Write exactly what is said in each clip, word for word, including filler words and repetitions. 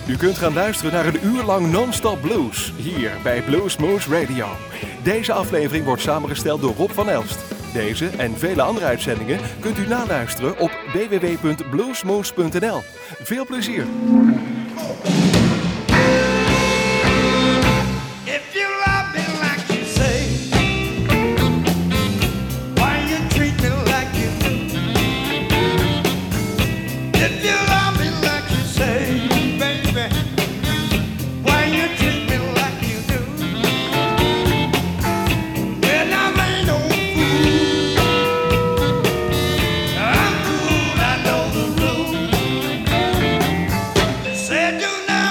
U kunt gaan luisteren naar een uur lang non-stop blues, hier bij Bluesmoose Radio. Deze aflevering wordt samengesteld door Rob van Elst. Deze en vele andere uitzendingen kunt u naluisteren op w w w punt bluesmoose punt n l. Veel plezier! Do not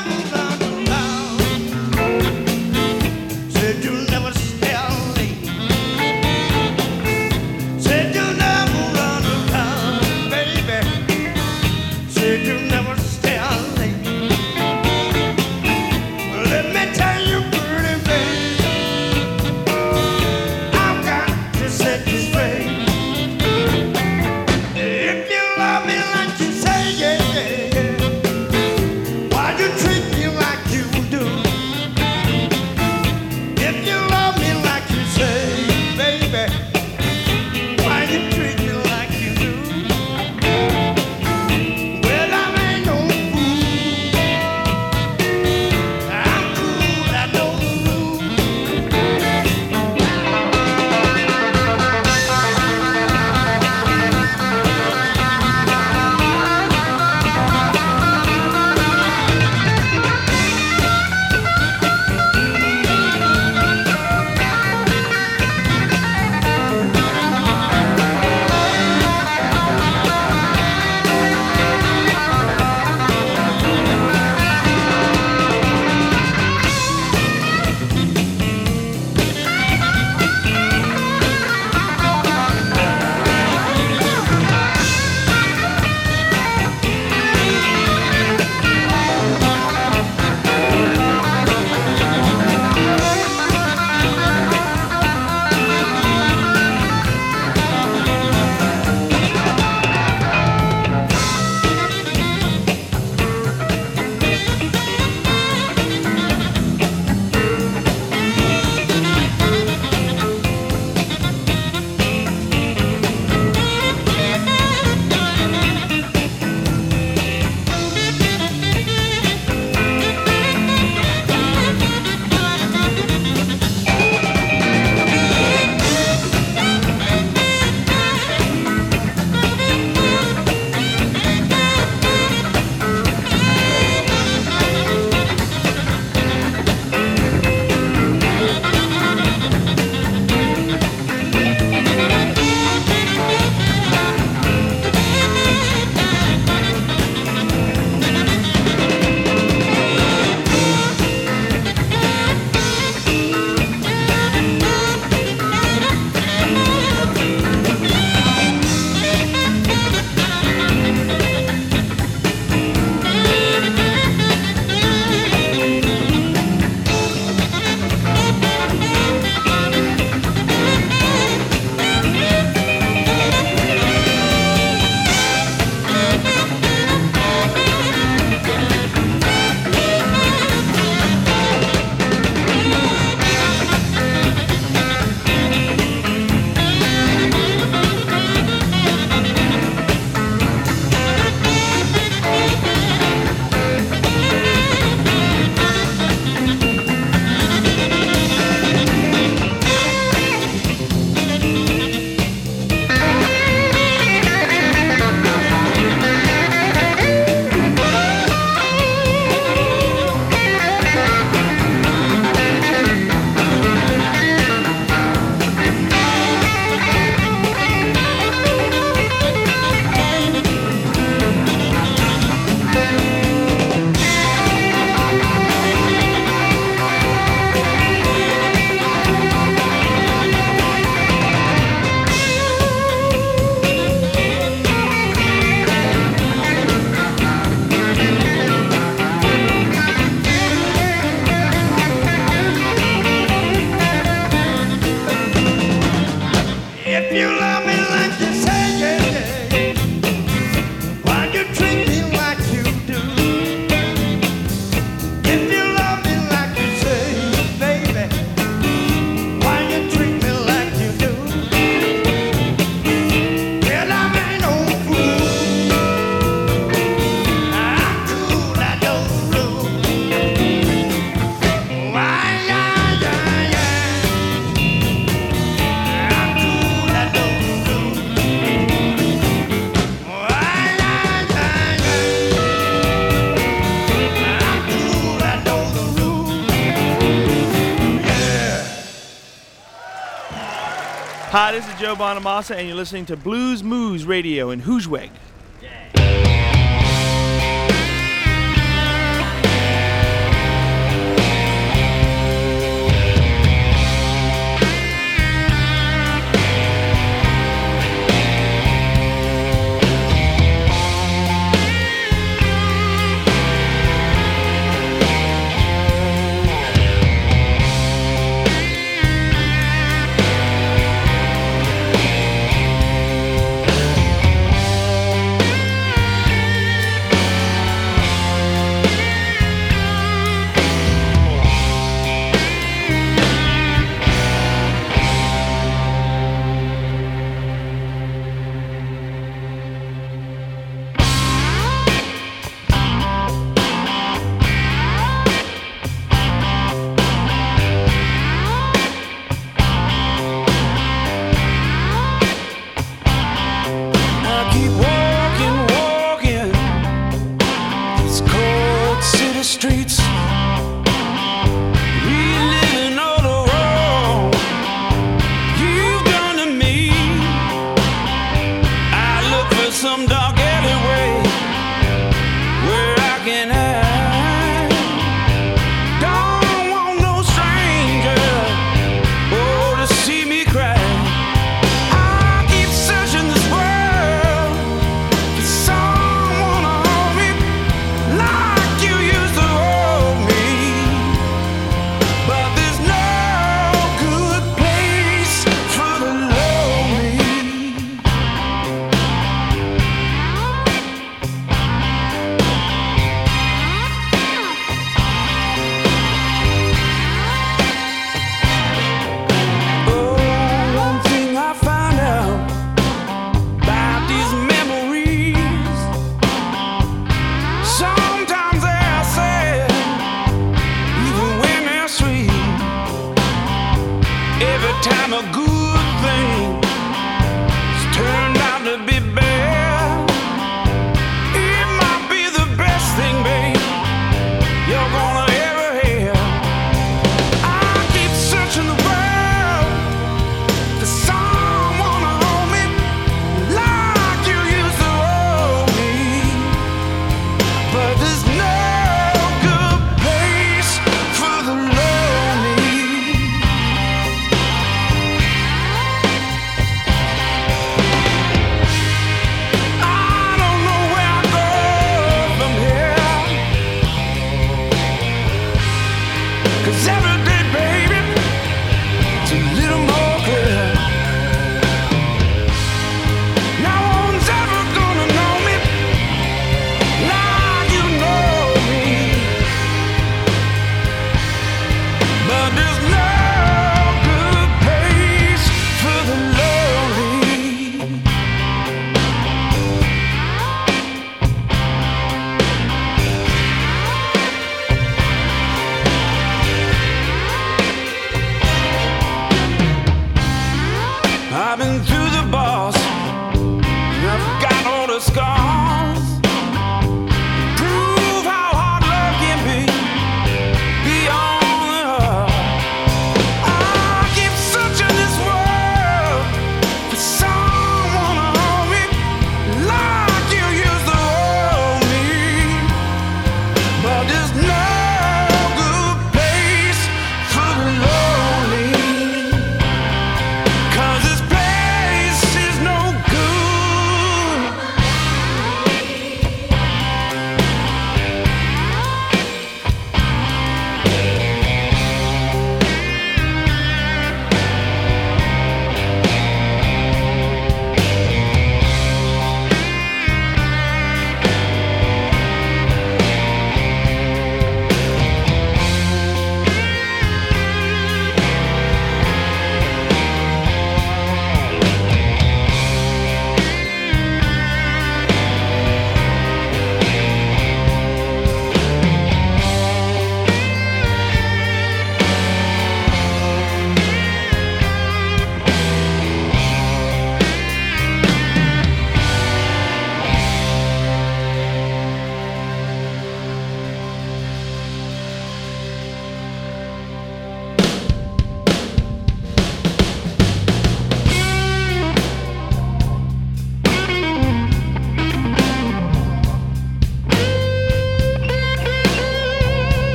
Hi, this is Joe Bonamassa, and you're listening to Blues Moose Radio in Hoosweg.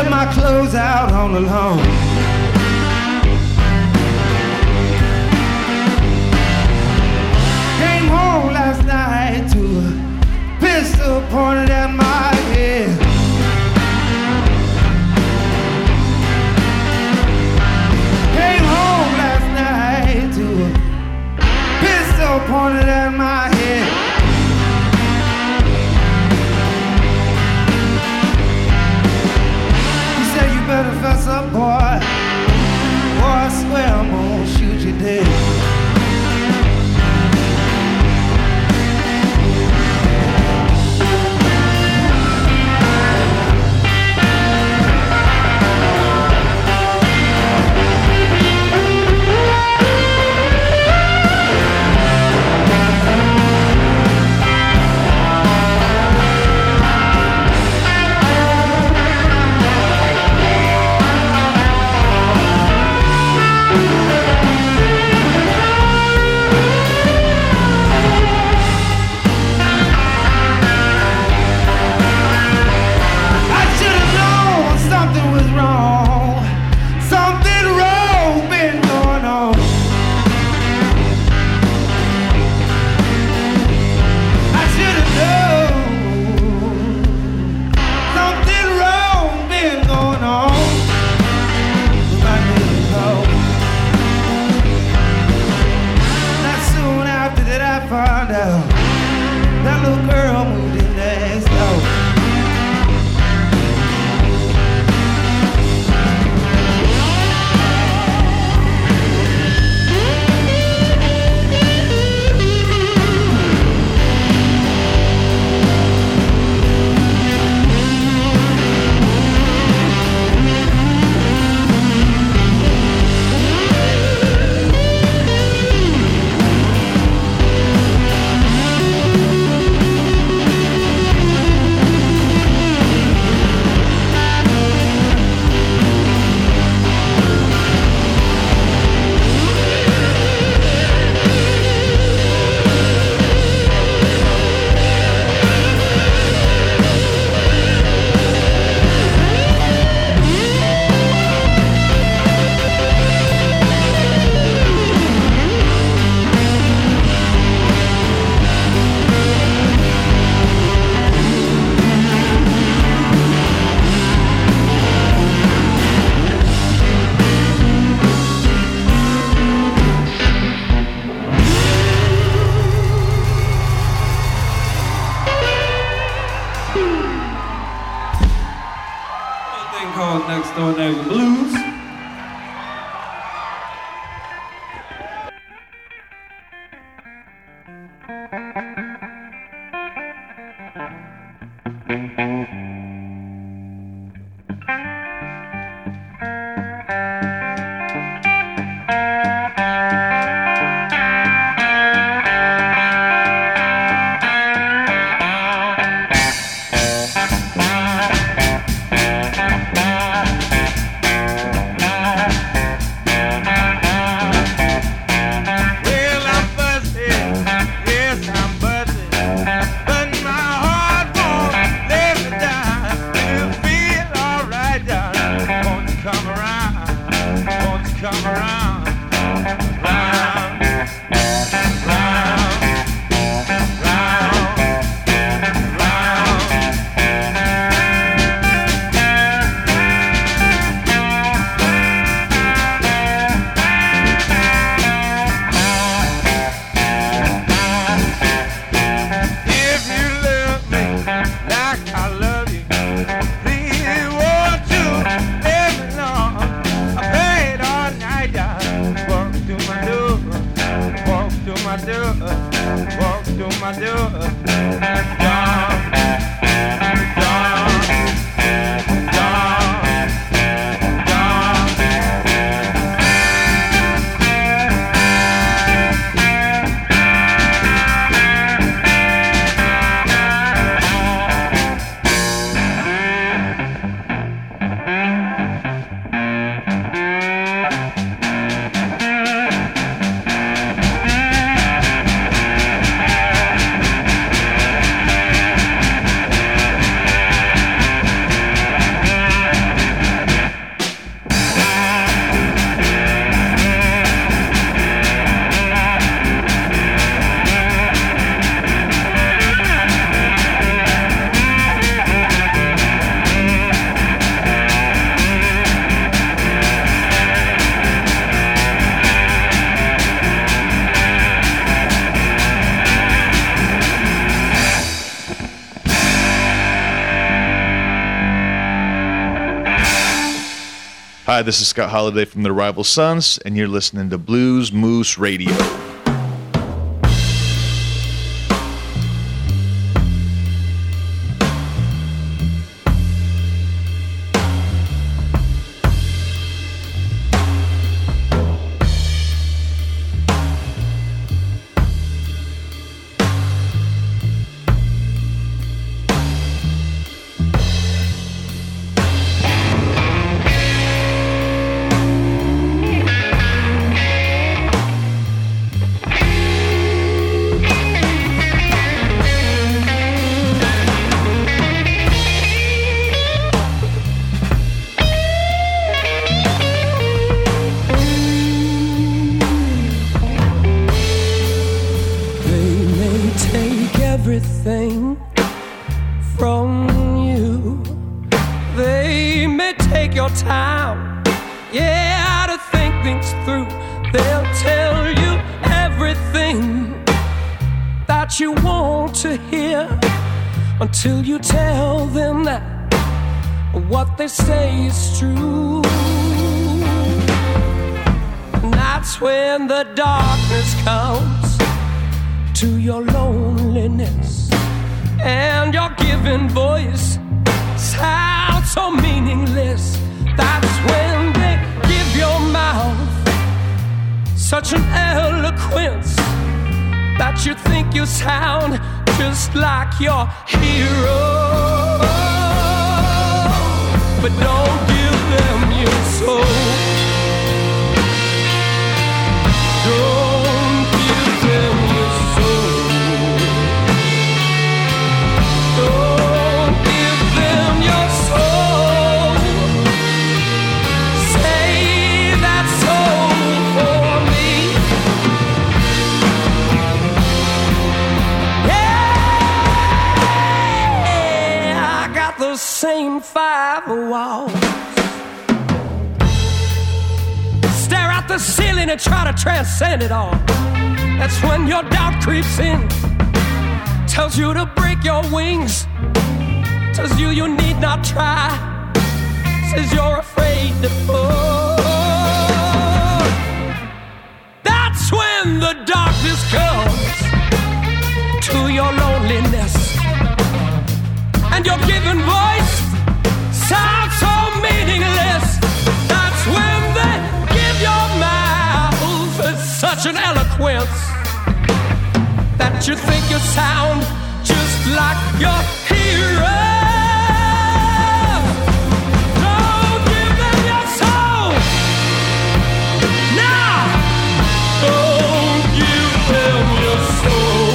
left my clothes out on the lawn. Came home last night to a pistol pointed at my head. Came home last night to a pistol pointed at my head. He said, you better fess up, boy. Boy, I swear I'm gonna shoot you dead. That little girl moved in next door. Next Door Neighbor Blues. Hi, this is Scott Holiday from the Rival Sons, and you're listening to Blues Moose Radio. Until you tell them that what they say is true. And that's when the darkness comes to your loneliness, and your given voice sounds so meaningless. That's when they give your mouth such an eloquence that you think you sound just like your hero. But don't give them your soul. Don't give them your soul. Don't give them your soul. Save that soul for me. Same five walls. Stare at the ceiling and try to transcend it all. That's when your doubt creeps in, tells you to break your wings, tells you you need not try, says you're afraid to fall. That's when the darkness comes to your loneliness, and your given voice sounds so meaningless. That's when they give your mouth such an eloquence that you think you sound just like your hero. Don't give them your soul. Now, don't give them your soul.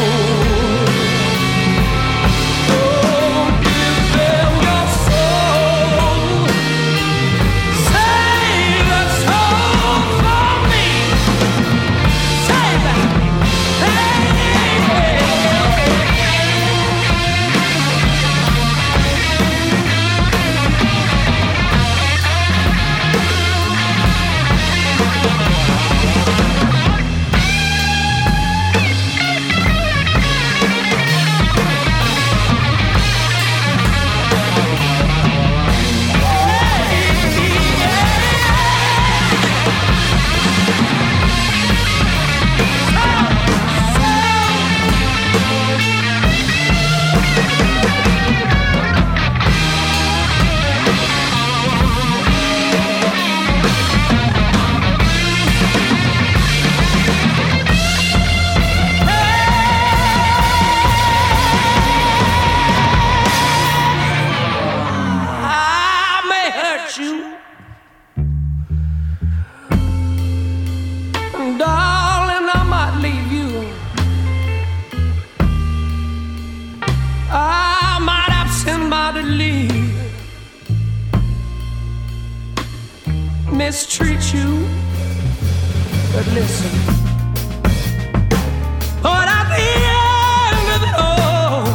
Mistreat you, but listen, but at the end of it all,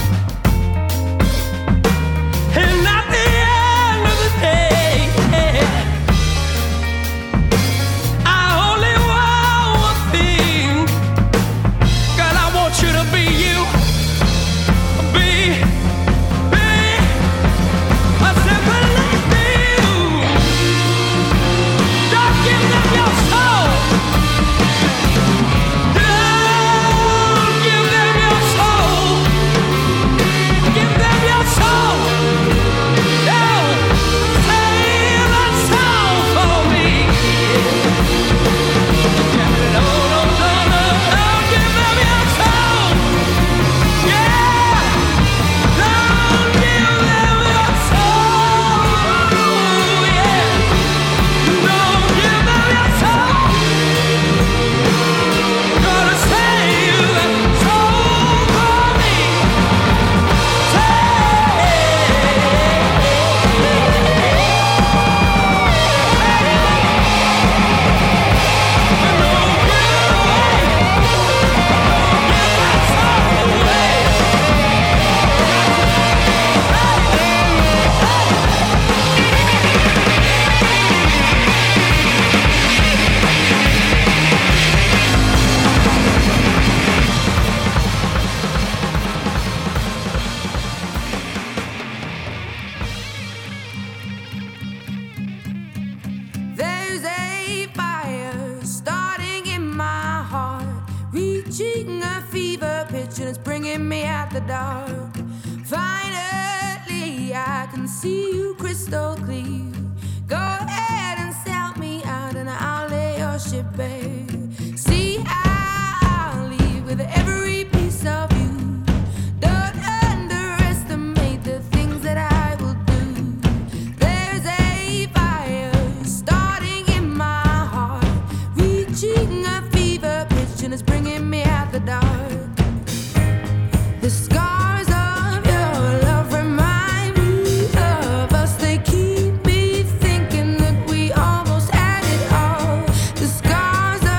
and at the end of the day, I only want one thing, girl, I want you to be you, be, be a simple like you. the dark. Finally, I can see you crystal clear. Go ahead and sell me out and I'll lay your ship bare. See, I'll leave with every piece of you. Don't underestimate the things that I will do. There's a fire starting in my heart, reaching a fever pitch and it's bringing me out the dark. The scars of your love remind me of us. They keep me thinking that we almost had it all. The scars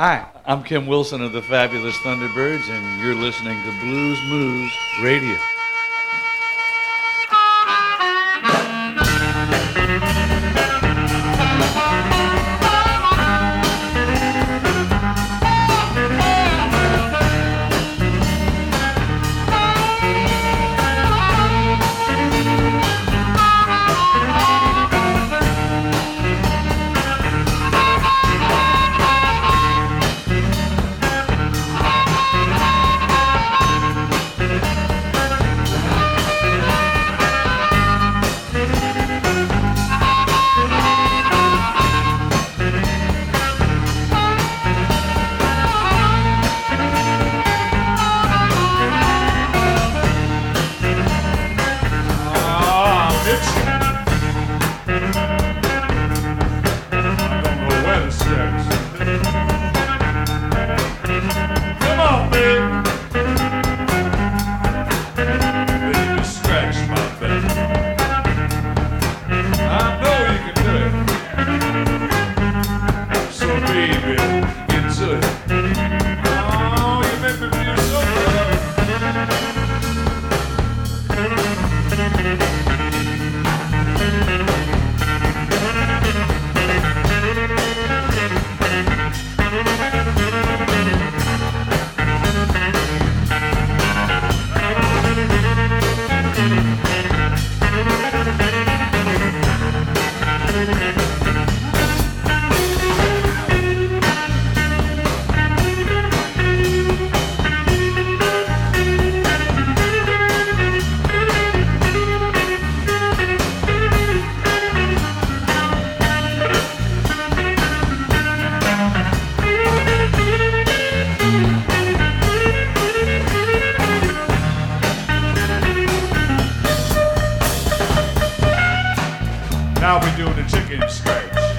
Hi, I'm Kim Wilson of the Fabulous Thunderbirds, and you're listening to Blues Moose Radio. Now we're doing the chicken scratch.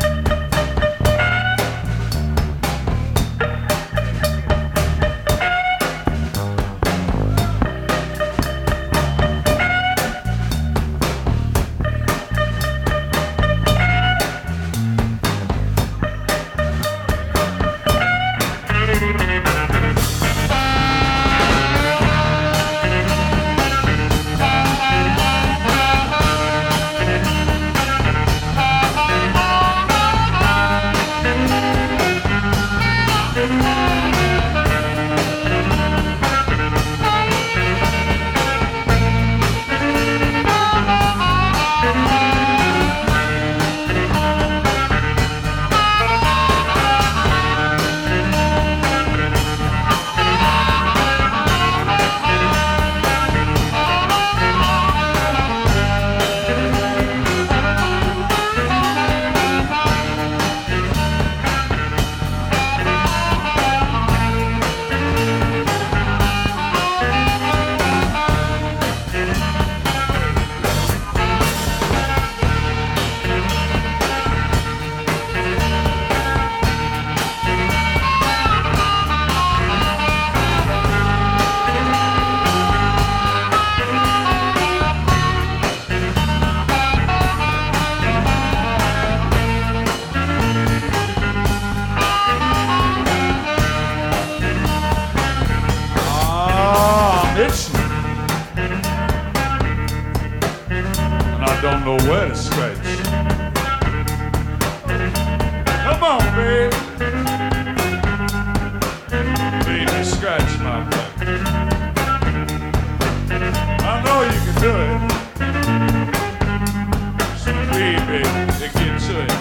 Don't know where to scratch. Come on, baby. Baby, scratch my back. I know you can do it. So, baby, get to it.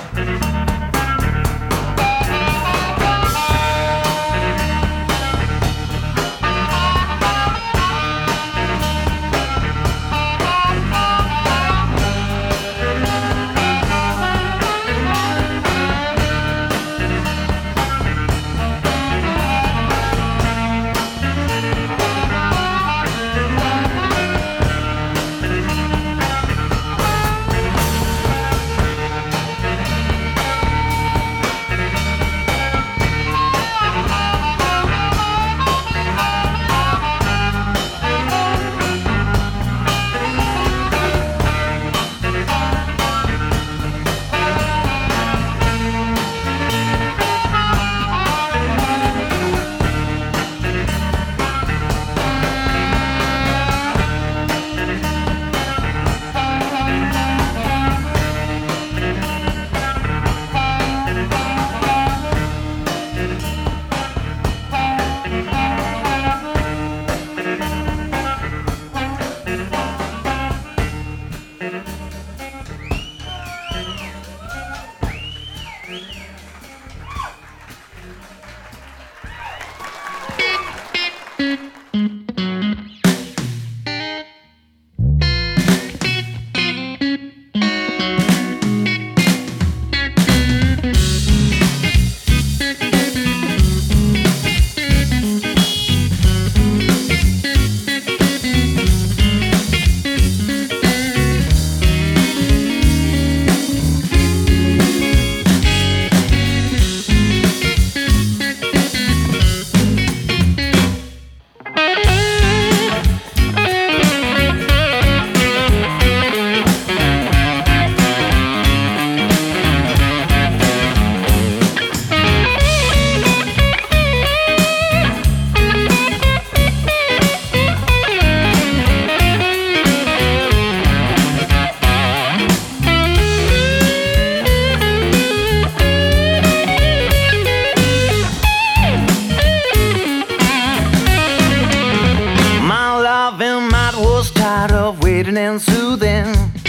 and soothing.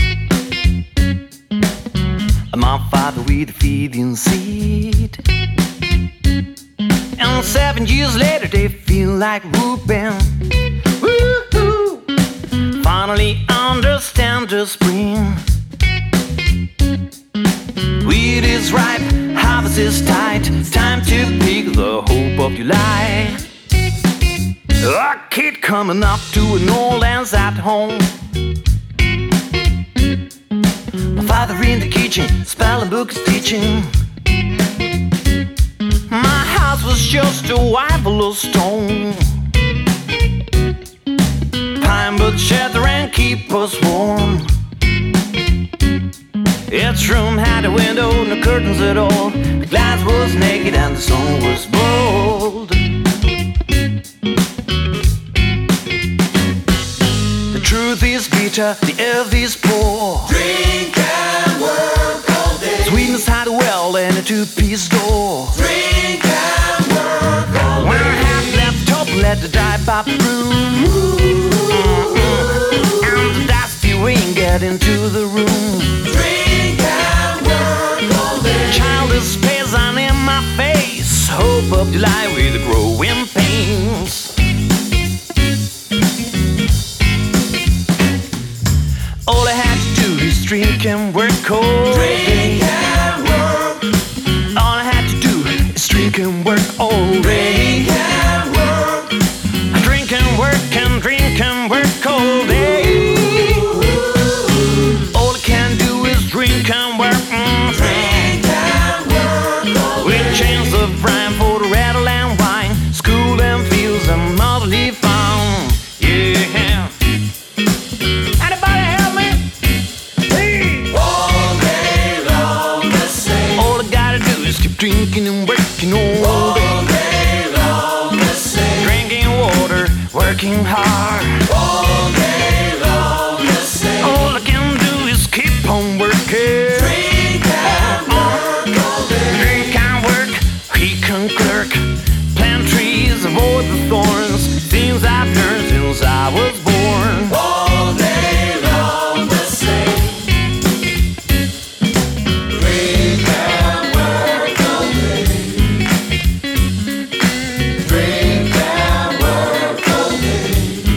My father with a feeding seed. And seven years later they feel like whooping. Woo-hoo. Finally understand the spring. Wheat is ripe, harvest is tight. Time to pick the hope of July. A kid coming up to an old man's at home. My father in the kitchen, spelling books teaching. My house was just a white stone. Pine but shelter and keep us warm. Its room had a window, no curtains at all. The glass was naked and the sun was bold. The truth is bitter, the earth is poor. Drink and work all day. Sweetness had a well and a two-piece door. Drink and work all day. When I have left up, let the die by broom. Mm-mm. And the dusty wind get into the room. Drink and work all day. Child is peasant in my face. Hope of July with the growing pains. All I had to do is drink and work all day. Drink and work. All I had to do is drink and work all day. Drink and work. Drink and work and drink and work all day. All I can do is drink and work. Mm. Drink and work all day. With chains of rhyme for the rattle and wine. School and fields and motherly farm. Yeah. Anybody help me? Hey. All day long the same. All I gotta do is keep drinking and working all All day. day long the same. Drinking water, working hard. All day long the same. All I can do is keep on working. Drink and work all day. Drink and work, he can clerk. Plant trees, avoid the thorns. Things I've learned since I was born. All day long the same. Drink and work all day. Drink and work all day.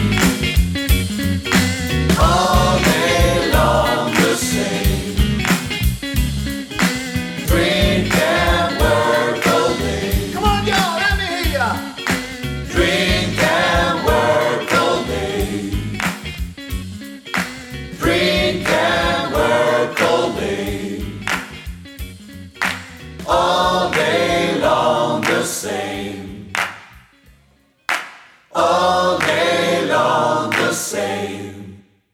All day long the same. Drink and work all day. Come on, y'all, let me hear ya. Drink and work all day. Drink and work all day. All day long the same. All day long the same.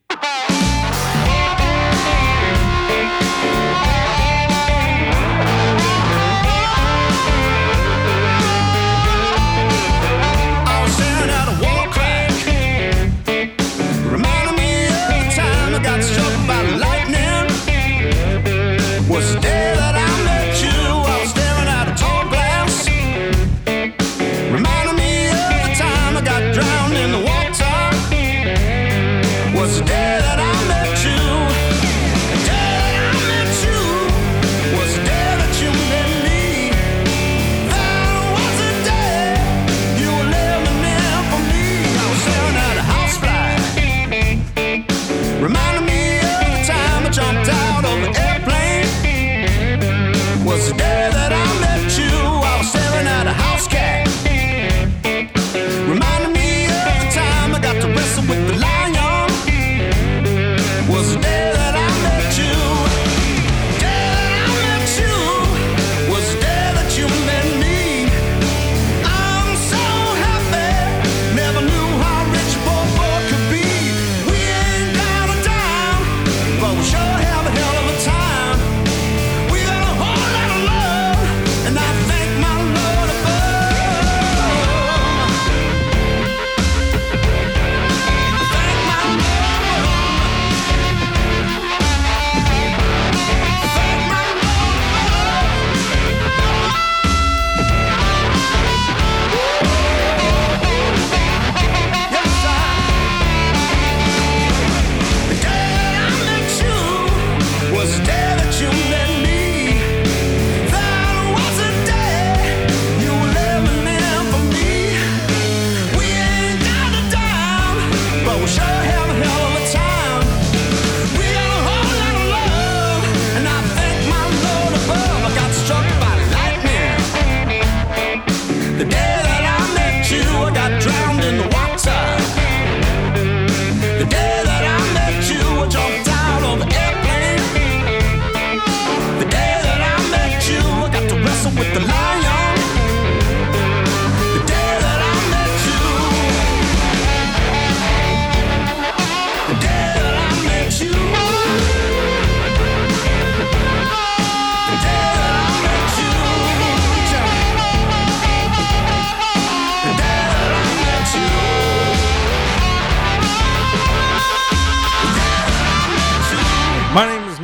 I was staring at a wall crack, reminding me of the time I got struck by lightning. Was the day that I met you. I was staring at a tall glass, reminding me of the time I got drowned in the water. Was the day that I met you. The day that I met you was the day that you met me. That was the day you were living in for me. I was staring at a housefly, reminding me of the time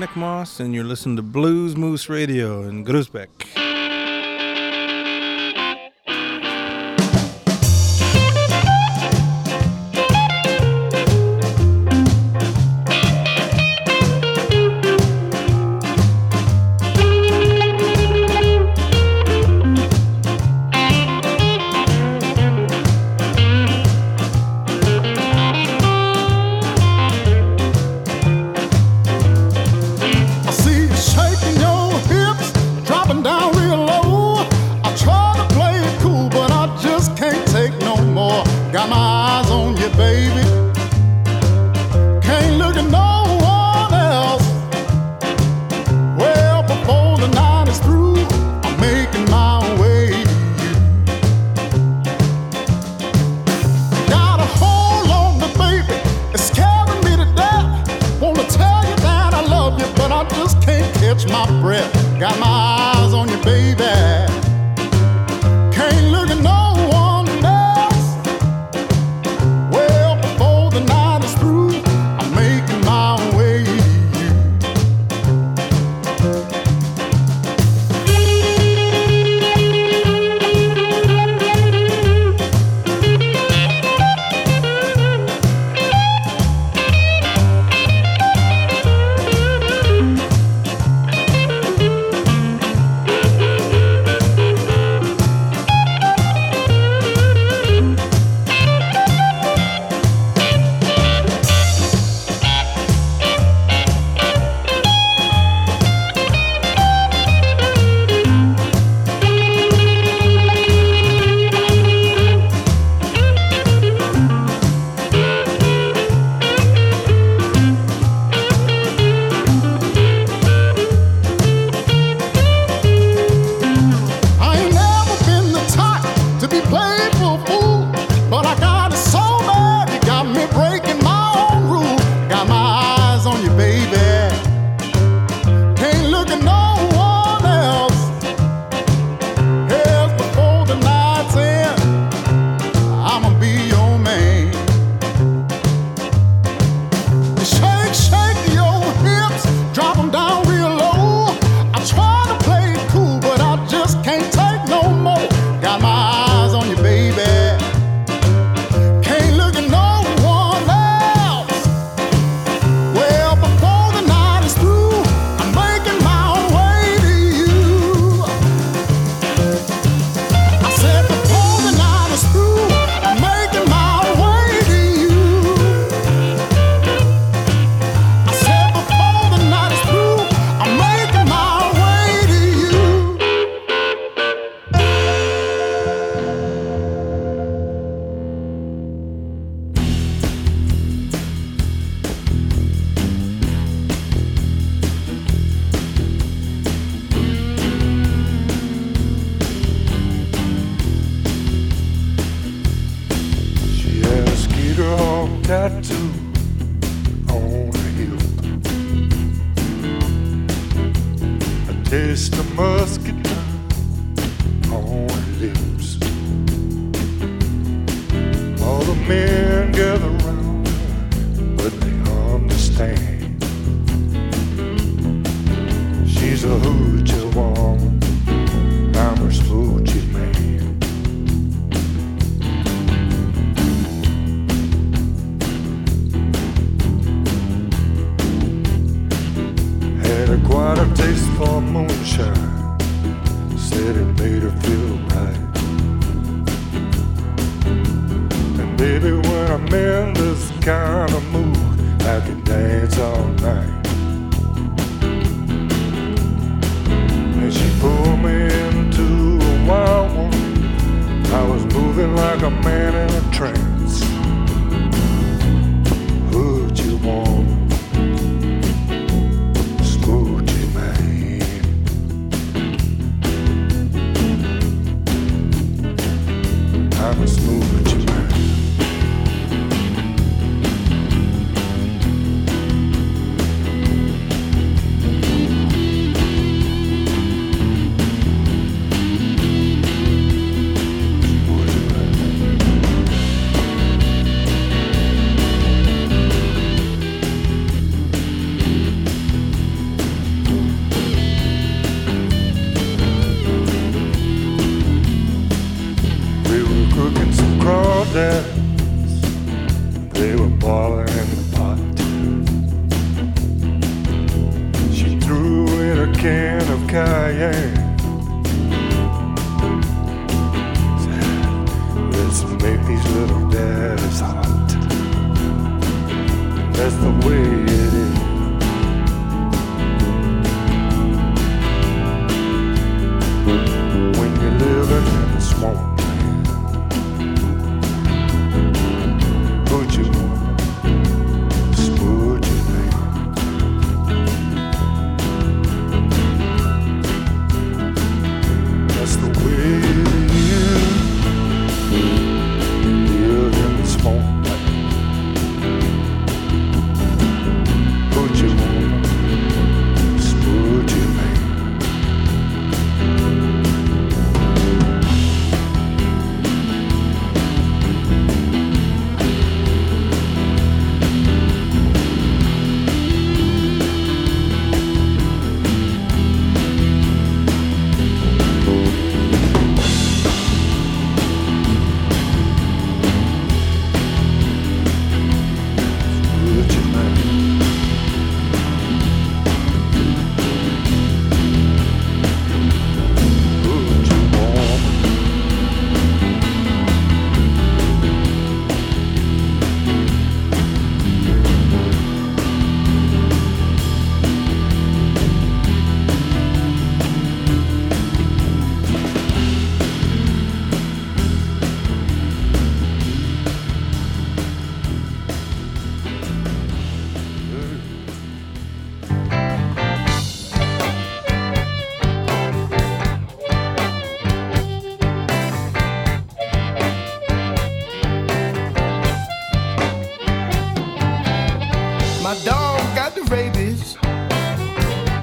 Nick Moss, and you're listening to Blues Moose Radio in Groesbeck.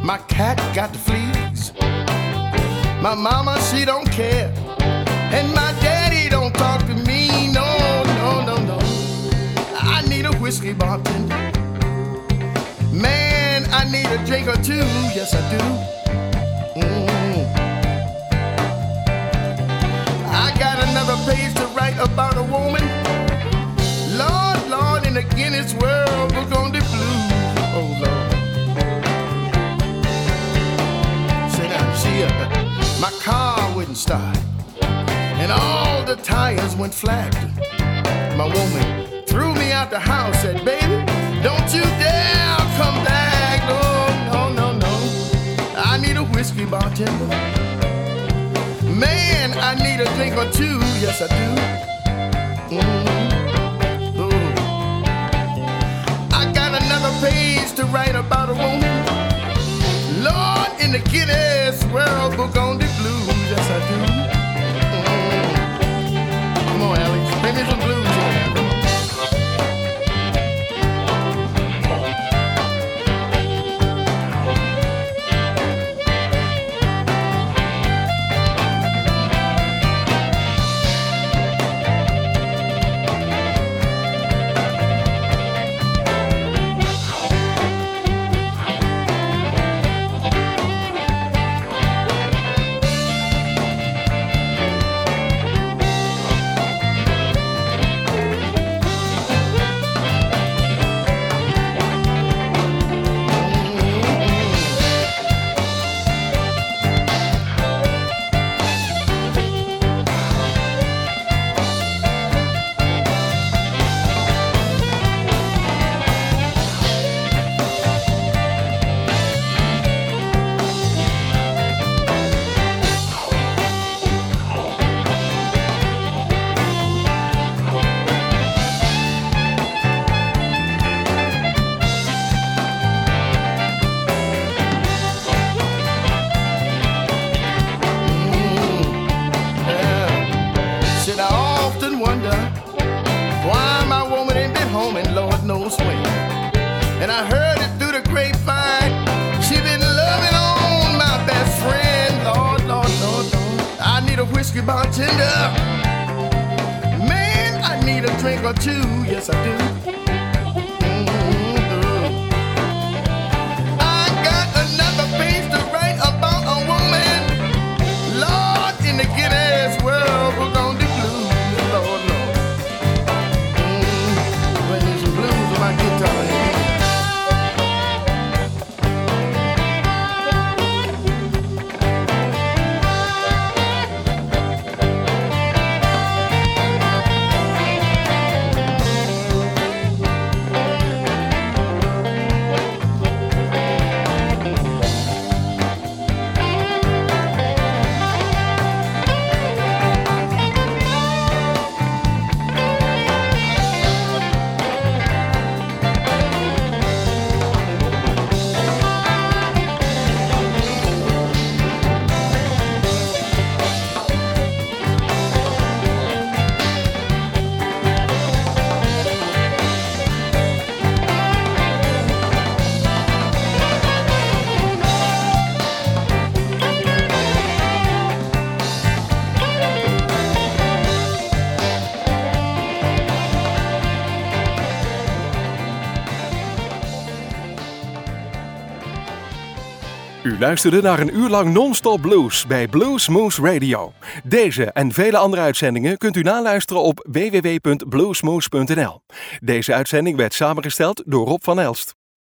My cat got the fleas. My mama, she don't care. And my daddy don't talk to me. No, no, no, no. I need a whiskey bartender. Man, I need a drink or two. Yes, I do. Mm. I got another page to write about a woman. Lord, Lord, in the Guinness World, we're gonna do blues. Oh, Lord. Say now, see, uh, my car wouldn't start, and all the tires went flat. My woman threw me out the house, said, baby, don't you dare come back. No, no, no, no. I need a whiskey bartender. Man, I need a drink or two. Yes, I do. Mm-hmm. Ooh. I got another page to write about a woman. Lord, in the Guinness World Book on the blues. Yes, I do. Mm-hmm. Come on, Alex. Bring me some blues here. Bartender, man, I need a drink or two. Yes, I do. Mm-hmm. I got another page to write about a woman. Lord, in the Guinness World, we're gonna do blues. Lord, Lord. Mm-hmm. Play me some blues on my guitar. U luisterde naar een uur lang non-stop blues bij Blues Moose Radio. Deze en vele andere uitzendingen kunt u naluisteren op w w w punt bluesmoose punt n l. Deze uitzending werd samengesteld door Rob van Elst.